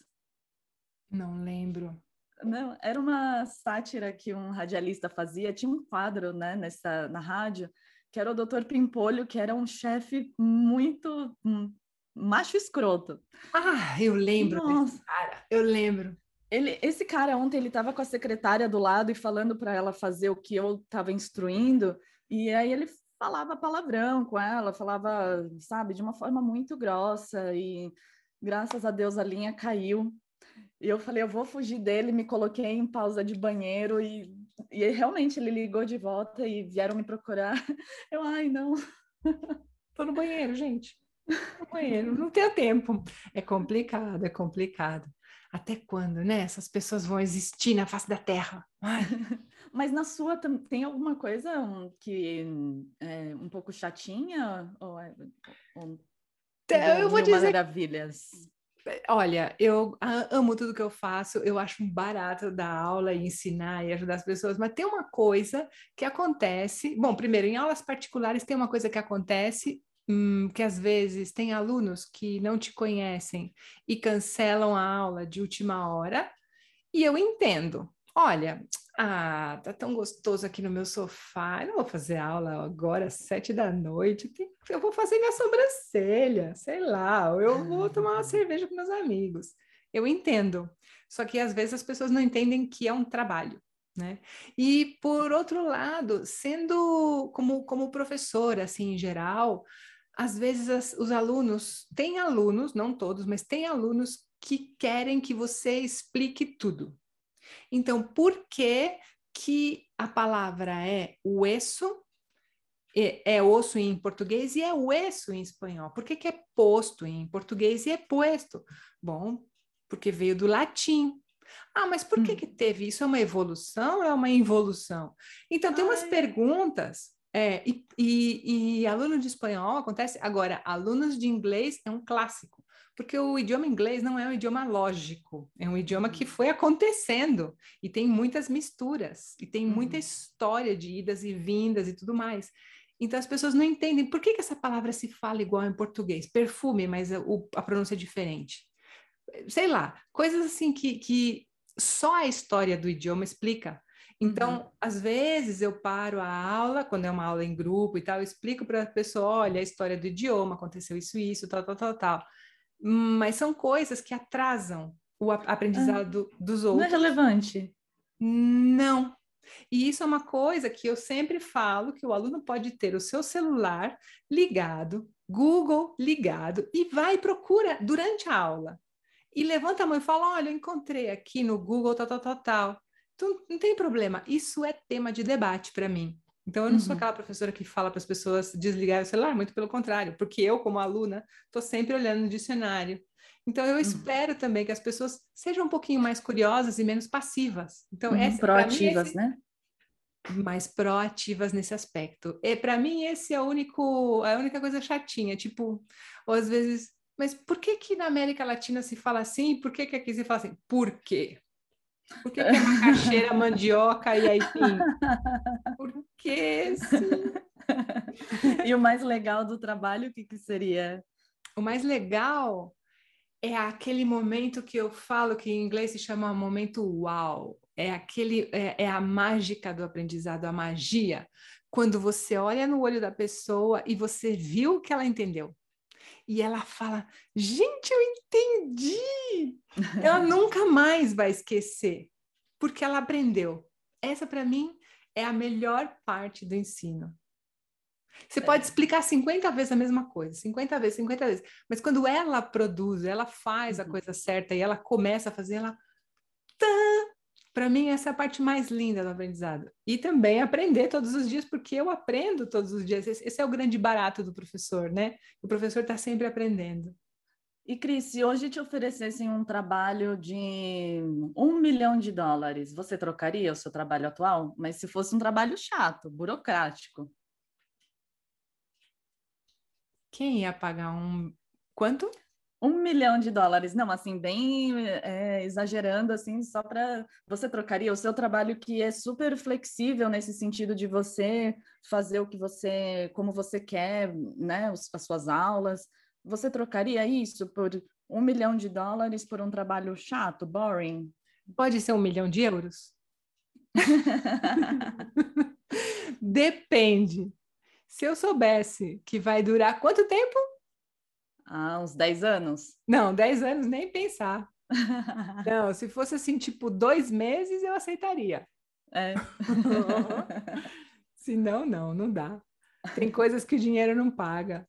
Não lembro. Não, era uma sátira que um radialista fazia. Tinha um quadro, né, nessa na rádio que era o doutor Pimpolho, que era um chefe muito um macho escroto. Ah, eu lembro desse Nossa. cara, eu lembro. Ele, esse cara ontem ele estava com a secretária do lado e falando para ela fazer o que eu estava instruindo, e aí ele falava palavrão com ela, falava, sabe, de uma forma muito grossa, e graças a Deus a linha caiu. E eu falei, eu vou fugir dele, me coloquei em pausa de banheiro e, e realmente ele ligou de volta e vieram me procurar. Eu, ai, não. Tô no banheiro, gente. No banheiro, não tenho tempo. É complicado, é complicado. Até quando, né? Essas pessoas vão existir na face da Terra? Ai. Mas na sua tam- tem alguma coisa um, que é um pouco chatinha ou, é, ou Então, tudo eu vou mil dizer, maravilhas? olha, eu a- amo tudo que eu faço, eu acho um barato dar aula e ensinar e ajudar as pessoas, mas tem uma coisa que acontece. Bom, primeiro, em aulas particulares tem uma coisa que acontece, hum, que às vezes tem alunos que não te conhecem e cancelam a aula de última hora. E eu entendo. Olha, ah, tá tão gostoso aqui no meu sofá. Eu não vou fazer aula agora às sete da noite. Tem- Eu vou fazer minha sobrancelha, sei lá. Ou eu vou tomar uma cerveja com meus amigos. Eu entendo. Só que às vezes as pessoas não entendem que é um trabalho, né? E por outro lado, sendo como como professora, assim, em geral, às vezes as- os alunos, tem alunos, não todos, mas tem alunos que querem que você explique tudo. Então, por que que a palavra é hueso, é, é osso em português e é hueso em espanhol? Por que que é posto em português e é puesto? Bom, porque veio do latim. Ah, mas por que Hum. que teve isso? É uma evolução ou é uma involução? Então, tem umas Ai, perguntas, é, e, e, e aluno de espanhol acontece. Agora, alunos de inglês é um clássico, porque o idioma inglês não é um idioma lógico, é um idioma que uhum, foi acontecendo e tem muitas misturas, e tem muita uhum. história de idas e vindas e tudo mais. Então, as pessoas não entendem por que que essa palavra se fala igual em português. Perfume, mas a, o, a pronúncia é diferente, sei lá, coisas assim que, que só a história do idioma explica. Uhum. Então, às vezes eu paro a aula, quando é uma aula em grupo e tal, eu explico para a pessoa, olha, a história do idioma, aconteceu isso, isso, tal, tal, tal, tal. Mas são coisas que atrasam o a- Ah, aprendizado dos não é outros. relevante. Não. E isso é uma coisa que eu sempre falo, que o aluno pode ter o seu celular ligado, Google ligado, e vai e procura durante a aula. e levanta a mão e fala, olha, eu encontrei aqui no Google, tal, tal, tal, tal. Então, não tem problema. Isso é tema de debate para mim. Então, eu não sou Uhum. aquela professora que fala para as pessoas desligarem o celular, muito pelo contrário, porque eu, como aluna, estou sempre olhando no dicionário. Então, eu Uhum. espero também que as pessoas sejam um pouquinho mais curiosas e menos passivas. Então, Uhum. para mim, Proativas, esse né? mais proativas nesse aspecto. E para mim esse é o único, a única coisa chatinha, tipo, ou às vezes, mas por que que na América Latina se fala assim? Por que que aqui se fala assim? Por quê? Por que que é macaxeira, mandioca e aipim? Por que sim? E o mais legal do trabalho, o que que seria? O mais legal é aquele momento que eu falo que em inglês se chama momento uau. É aquele, é, é a mágica do aprendizado, a magia. Quando você olha no olho da pessoa e você viu que ela entendeu. E ela fala: gente, eu entendi! Ela nunca mais vai esquecer, porque ela aprendeu. Essa, para mim, é a melhor parte do ensino. Você pode É. explicar cinquenta vezes a mesma coisa, cinquenta vezes, cinquenta vezes, mas quando ela produz, ela faz a Uhum. coisa certa e ela começa a fazer, ela. Para mim, essa é a parte mais linda do aprendizado. E também aprender todos os dias, porque eu aprendo todos os dias. Esse, esse é o grande barato do professor, né? O professor está sempre aprendendo. E, Cris, se hoje te oferecessem um trabalho de um milhão de dólares, você trocaria o seu trabalho atual? Mas se fosse um trabalho chato, burocrático. Quem ia pagar um. Quanto? Um milhão de dólares, não, assim, bem é, exagerando, assim, só para você trocaria o seu trabalho que é super flexível nesse sentido de você fazer o que você, como você quer, né, as suas aulas. Você trocaria isso por um milhão de dólares por um trabalho chato, boring? Pode ser um milhão de euros? Depende. Se eu soubesse que vai durar quanto tempo? Há uns dez anos? Não, dez anos nem pensar. Não, se fosse assim, tipo, dois meses, eu aceitaria. É. Se não, não, não dá. Tem coisas que o dinheiro não paga.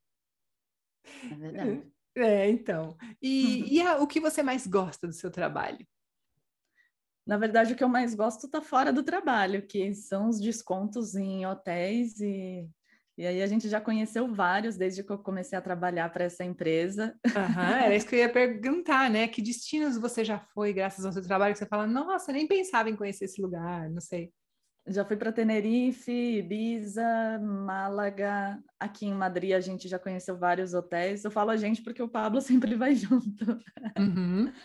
É verdade. É, então. E, e a- o que você mais gosta do seu trabalho? Na verdade, o que eu mais gosto está fora do trabalho, que são os descontos em hotéis e, e aí a gente já conheceu vários desde que eu comecei a trabalhar para essa empresa. Aham, era isso que eu ia perguntar, né? Que destinos você já foi graças ao seu trabalho que você fala, nossa, nem pensava em conhecer esse lugar, não sei. Já fui para Tenerife, Ibiza, Málaga, aqui em Madrid a gente já conheceu vários hotéis. Eu falo a gente porque o Pablo sempre vai junto. Uhum.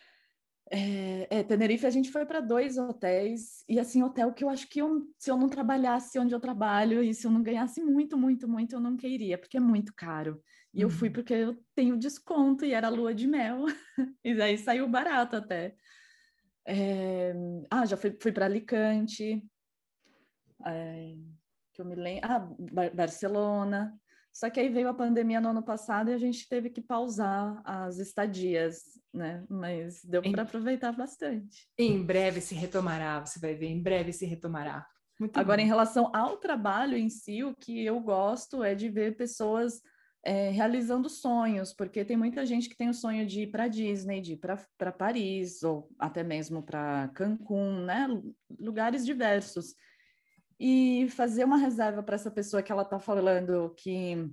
É, é, Tenerife a gente foi para dois hotéis, e assim, hotel que eu acho que eu, se eu não trabalhasse onde eu trabalho e se eu não ganhasse muito, muito, muito, eu não queria, porque é muito caro. E eu fui Uhum. porque eu tenho desconto e era lua de mel, e daí saiu barato até. É, ah, já fui, fui para Alicante, é, que eu me lembro. Ah, Bar Barcelona. Só que aí veio a pandemia no ano passado e a gente teve que pausar as estadias, né? Mas deu para Em, aproveitar bastante. em breve se retomará, você vai ver, em breve se retomará. Muito Agora, em bom. relação ao trabalho em si, o que eu gosto é de ver pessoas é, realizando sonhos, porque tem muita gente que tem o sonho de ir para Disney, de ir para Paris, ou até mesmo para Cancún, né? Lugares diversos. E fazer uma reserva para essa pessoa que ela está falando que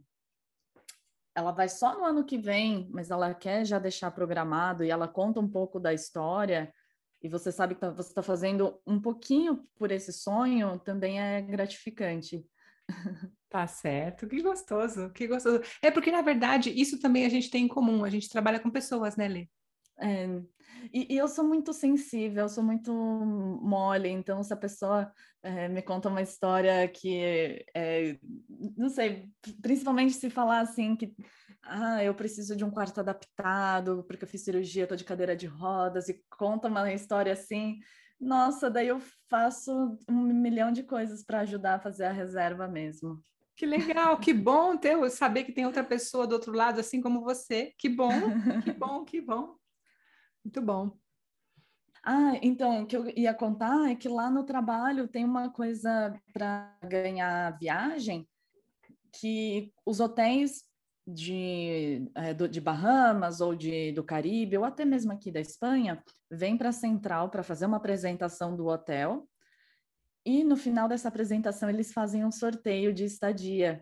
ela vai só no ano que vem, mas ela quer já deixar programado e ela conta um pouco da história, e você sabe que tá, você está fazendo um pouquinho por esse sonho, também é gratificante. Tá certo, que gostoso, que gostoso. É porque, na verdade, isso também a gente tem em comum, a gente trabalha com pessoas, né, Lê? É, e, e eu sou muito sensível, eu sou muito mole, então se a pessoa é, me conta uma história que, é, não sei, principalmente se falar assim que ah, eu preciso de um quarto adaptado porque eu fiz cirurgia, estou de cadeira de rodas e conta uma história assim, nossa, daí eu faço um milhão de coisas para ajudar a fazer a reserva mesmo. Que legal, que bom ter, saber que tem outra pessoa do outro lado, assim como você. Que bom, que bom, que bom. Muito bom. Ah, então, o que eu ia contar é que lá no trabalho tem uma coisa para ganhar viagem que os hotéis de, é, do, de Bahamas ou de, do Caribe, ou até mesmo aqui da Espanha, vem para a central para fazer uma apresentação do hotel, e no final dessa apresentação eles fazem um sorteio de estadia.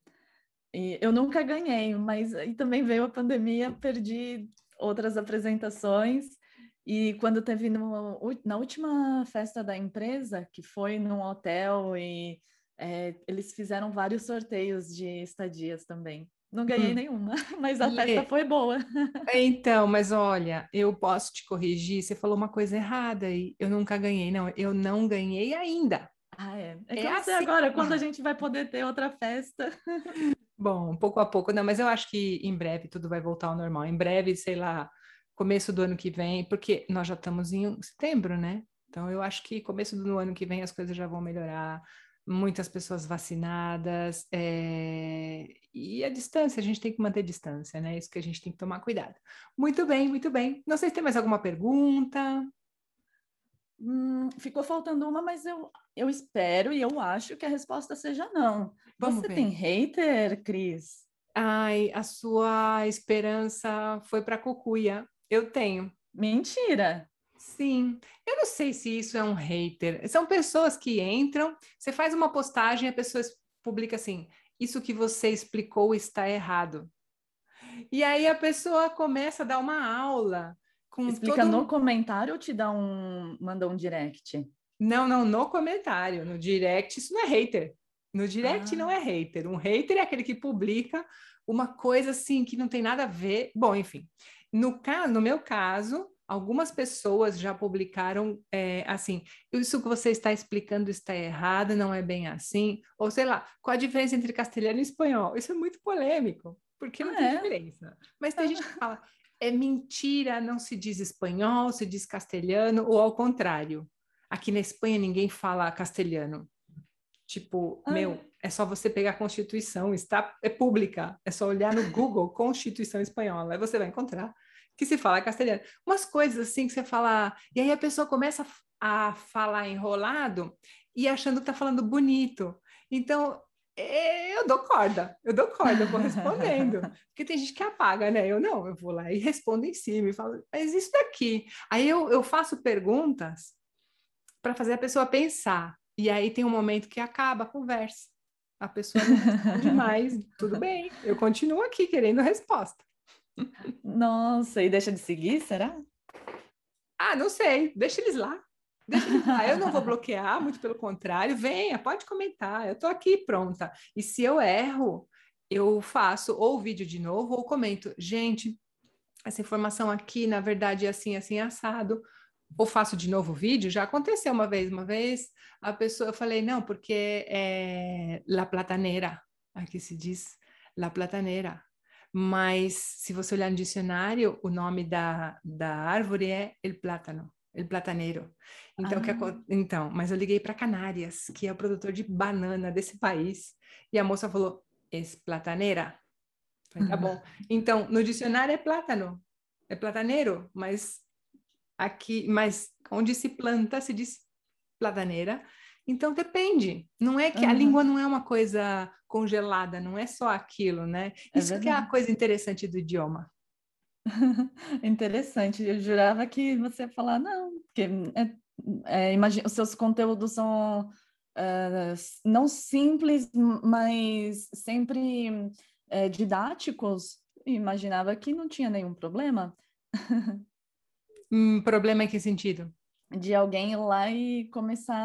E eu nunca ganhei, mas aí também veio a pandemia, perdi outras apresentações, e quando teve no, na última festa da empresa, que foi num hotel, e é, eles fizeram vários sorteios de estadias também. Não ganhei Hum. nenhuma, mas a festa Lê, foi boa. então, mas olha, eu posso te corrigir, você falou uma coisa errada e eu nunca ganhei. Não, eu não ganhei ainda. Ah, é. É que É eu não sei assim. agora quando a gente vai poder ter outra festa. Bom, pouco a pouco, não, mas eu acho que em breve tudo vai voltar ao normal. Em breve, sei lá, começo do ano que vem, porque nós já estamos em setembro, né? Então eu acho que começo do ano que vem as coisas já vão melhorar. Muitas pessoas vacinadas, é, e a distância, a gente tem que manter distância, né? Isso que a gente tem que tomar cuidado. Muito bem, muito bem. Não sei se tem mais alguma pergunta. Hum, ficou faltando uma, mas eu, eu espero e eu acho que a resposta seja não. Vamos Você tem ver. hater, Cris? Ai, a sua esperança foi para Cucuia. Eu tenho. Mentira! Sim, eu não sei se isso é um hater. São pessoas que entram, você faz uma postagem, a pessoa publica assim: isso que você explicou está errado. E aí a pessoa começa a dar uma aula com Explica no todo. comentário ou te dá um, manda um direct? Não, não, no comentário, no direct, isso não é hater. No direct não Ah, é hater. Um hater é aquele que publica uma coisa assim que não tem nada a ver. Bom, enfim. No caso, no meu caso, algumas pessoas já publicaram é, assim, isso que você está explicando está errado, não é bem assim, ou sei lá, qual a diferença entre castelhano e espanhol? Isso é muito polêmico, porque não ah tem é? diferença. Mas tem gente que fala, é mentira, não se diz espanhol, se diz castelhano, ou ao contrário. Aqui na Espanha ninguém fala castelhano. Tipo, Ah, meu, é só você pegar a Constituição, está, é pública. É só olhar no Google Constituição Espanhola, aí você vai encontrar que se fala castelhano. Umas coisas assim que você fala, e aí a pessoa começa a, a falar enrolado e achando que tá falando bonito. Então, é, eu dou corda, eu dou corda, eu vou respondendo. Porque tem gente que apaga, né? Eu não, eu vou lá e respondo em cima e falo, mas isso daqui. Aí eu, eu faço perguntas para fazer a pessoa pensar. E aí tem um momento que acaba a conversa. A pessoa não responde mais. Tudo bem, eu continuo aqui querendo resposta. Nossa, e deixa de seguir, será? Ah, não sei, deixa eles lá. Deixa eles lá. Eu não vou bloquear, muito pelo contrário. Venha, pode comentar. Eu estou aqui pronta. E se eu erro, eu faço ou o vídeo de novo ou comento. Gente, essa informação aqui, na verdade, é assim, assim, assado. Ou faço de novo o vídeo, já aconteceu uma vez, uma vez a pessoa, eu falei, não, porque é La Plataneira, aqui se diz La Plataneira, mas se você olhar no dicionário, o nome da, da árvore é El Plátano, El Plataneiro. Então, que, Ah. então, mas eu liguei para Canárias, que é o produtor de banana desse país, e a moça falou, es plataneira? Falei, tá bom. Então, no dicionário é plátano, é plataneiro, mas aqui, mas onde se planta se diz plataneira. Então depende. Não é que a Uhum. língua não é uma coisa congelada, não é só aquilo, né? É Isso que é a verdade. coisa interessante do idioma. Interessante. Eu jurava que você ia falar, não, porque é, é, imagina, os seus conteúdos são é, não simples, mas sempre é, didáticos. Imaginava que não tinha nenhum problema Hum, problema em que sentido? de alguém ir lá e começar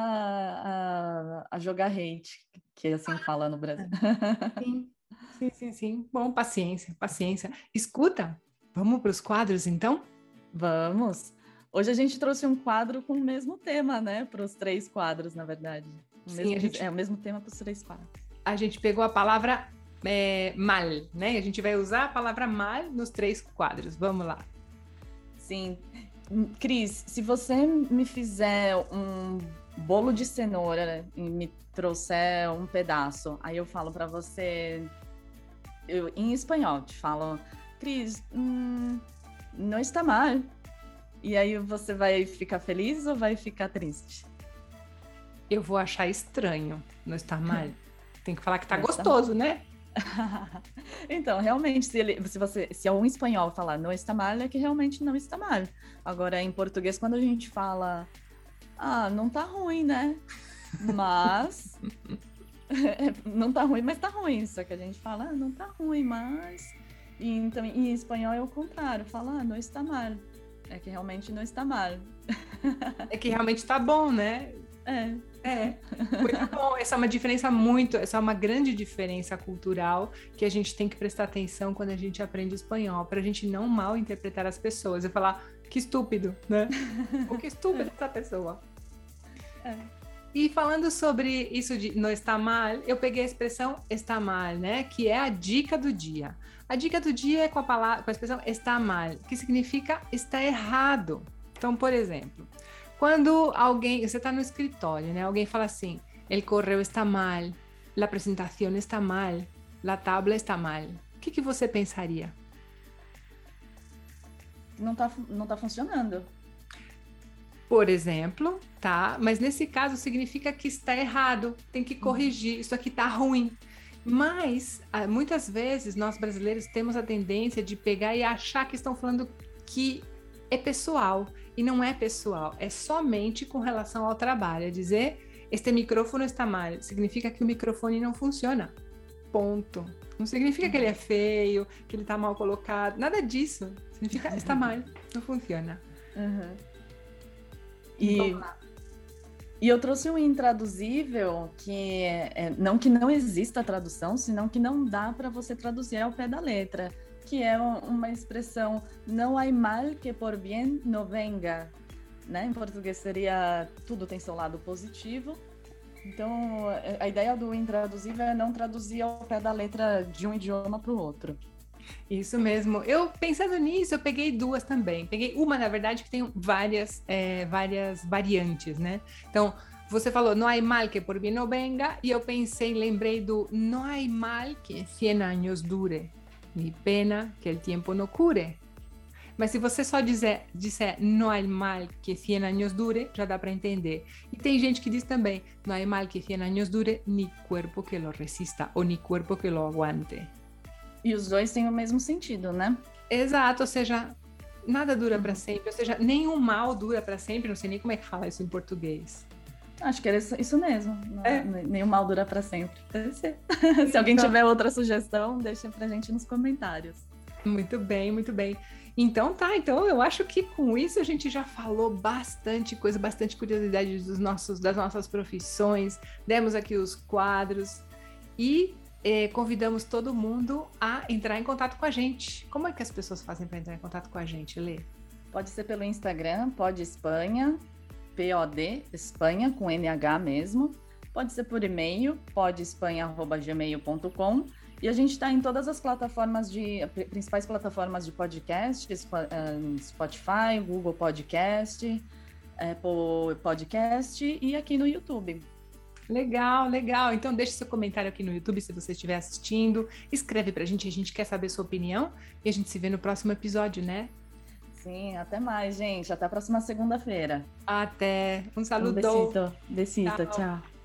a, a jogar hate, que assim fala no Brasil. Sim, sim, sim, sim. Bom, paciência, paciência. Escuta, vamos para os quadros então? Vamos! Hoje a gente trouxe um quadro com o mesmo tema, né? Para os três quadros, na verdade. O Sim, mesmo, a gente, é o mesmo tema para os três quadros. a gente pegou a palavra é, mal, né? A gente vai usar a palavra mal nos três quadros. Vamos lá. Sim. Cris, se você me fizer um bolo de cenoura e me trouxer um pedaço, aí eu falo para você, eu, em espanhol, te falo, Cris, hum, não está mal. E aí você vai ficar feliz ou vai ficar triste? Eu vou achar estranho, não está mal. Tem que falar que tá Não está gostoso, né? Então, realmente, se, ele, se, você, se um espanhol falar não está mal, é que realmente não está mal. Agora, em português, quando a gente fala, ah, não tá ruim, né? Mas... não tá ruim, mas tá ruim. Só que a gente fala, ah, não tá ruim, mas... E, então, em espanhol é o contrário. Fala, ah, não está mal. É que realmente não está mal. É que realmente tá bom, né? É. É, muito bom. Essa é uma diferença muito, essa é uma grande diferença cultural que a gente tem que prestar atenção quando a gente aprende espanhol, para a gente não mal interpretar as pessoas e falar que estúpido, né? Ou que estúpida essa pessoa. É. E falando sobre isso de não está mal, eu peguei a expressão está mal, né? Que é a dica do dia. A dica do dia é com a palavra, com a expressão está mal, que significa está errado. Então, por exemplo, quando alguém, você está no escritório, né? Alguém fala assim, el correo está mal, la presentación está mal, la tabla está mal. O que, que você pensaria? Não tá, não tá funcionando. Por exemplo, tá? Mas nesse caso significa que está errado, tem que corrigir, isso aqui tá ruim. Mas, muitas vezes, nós brasileiros temos a tendência de pegar e achar que estão falando que é pessoal. E não é pessoal, é somente com relação ao trabalho. É dizer, este microfone está mal, significa que o microfone não funciona. Ponto. Não significa uhum. que ele é feio, que ele está mal colocado, nada disso. Significa está mal, não funciona. Uhum. E, e eu trouxe um intraduzível que é, não que não exista tradução, senão que não dá para você traduzir ao pé da letra, que é uma expressão não há mal que por bien no venga, né? Em português seria tudo tem seu lado positivo. Então, a ideia do intraduzível é não traduzir ao pé da letra de um idioma para o outro. Isso mesmo. Eu, pensando nisso, eu peguei duas também. Peguei uma, na verdade, que tem várias, é, várias variantes, né? Então, você falou, não há mal que por bien no venga, e eu pensei, lembrei do não há mal que cien años dure, ni pena que el tiempo no cure. Mas se você só dizer, disser não há mal que cien años dure, já dá para entender. E tem gente que diz também, não há mal que cien años dure, ni cuerpo que lo resista, ou ni cuerpo que lo aguante. E os dois têm o mesmo sentido, né? Exato, ou seja, nada dura para sempre, ou seja, nenhum mal dura para sempre, não sei nem como é que fala isso em português. Acho que era isso mesmo, é. Nenhum mal dura para sempre. Deve ser. Se alguém então, tiver outra sugestão, deixa pra gente nos comentários. Muito bem, muito bem. Então tá, então eu acho que com isso a gente já falou bastante coisa, bastante curiosidade dos nossos, das nossas profissões, demos aqui os quadros e eh, convidamos todo mundo a entrar em contato com a gente. Como é que as pessoas fazem para entrar em contato com a gente, Lê? Pode ser pelo Instagram, Pod Espanha, P O D, Espanha, com N H mesmo. Pode ser por e-mail, podespanha arroba gmail ponto com. E a gente está em todas as plataformas de, principais plataformas de podcast, Spotify, Google Podcast, Apple Podcast e aqui no YouTube. Legal, legal. Então deixe seu comentário aqui no YouTube se você estiver assistindo. Escreve pra gente, a gente quer saber sua opinião. E a gente se vê no próximo episódio, né? Sim, até mais, gente. Até a próxima segunda-feira. Até. Um saludo. Um besito. Besito, tchau. tchau.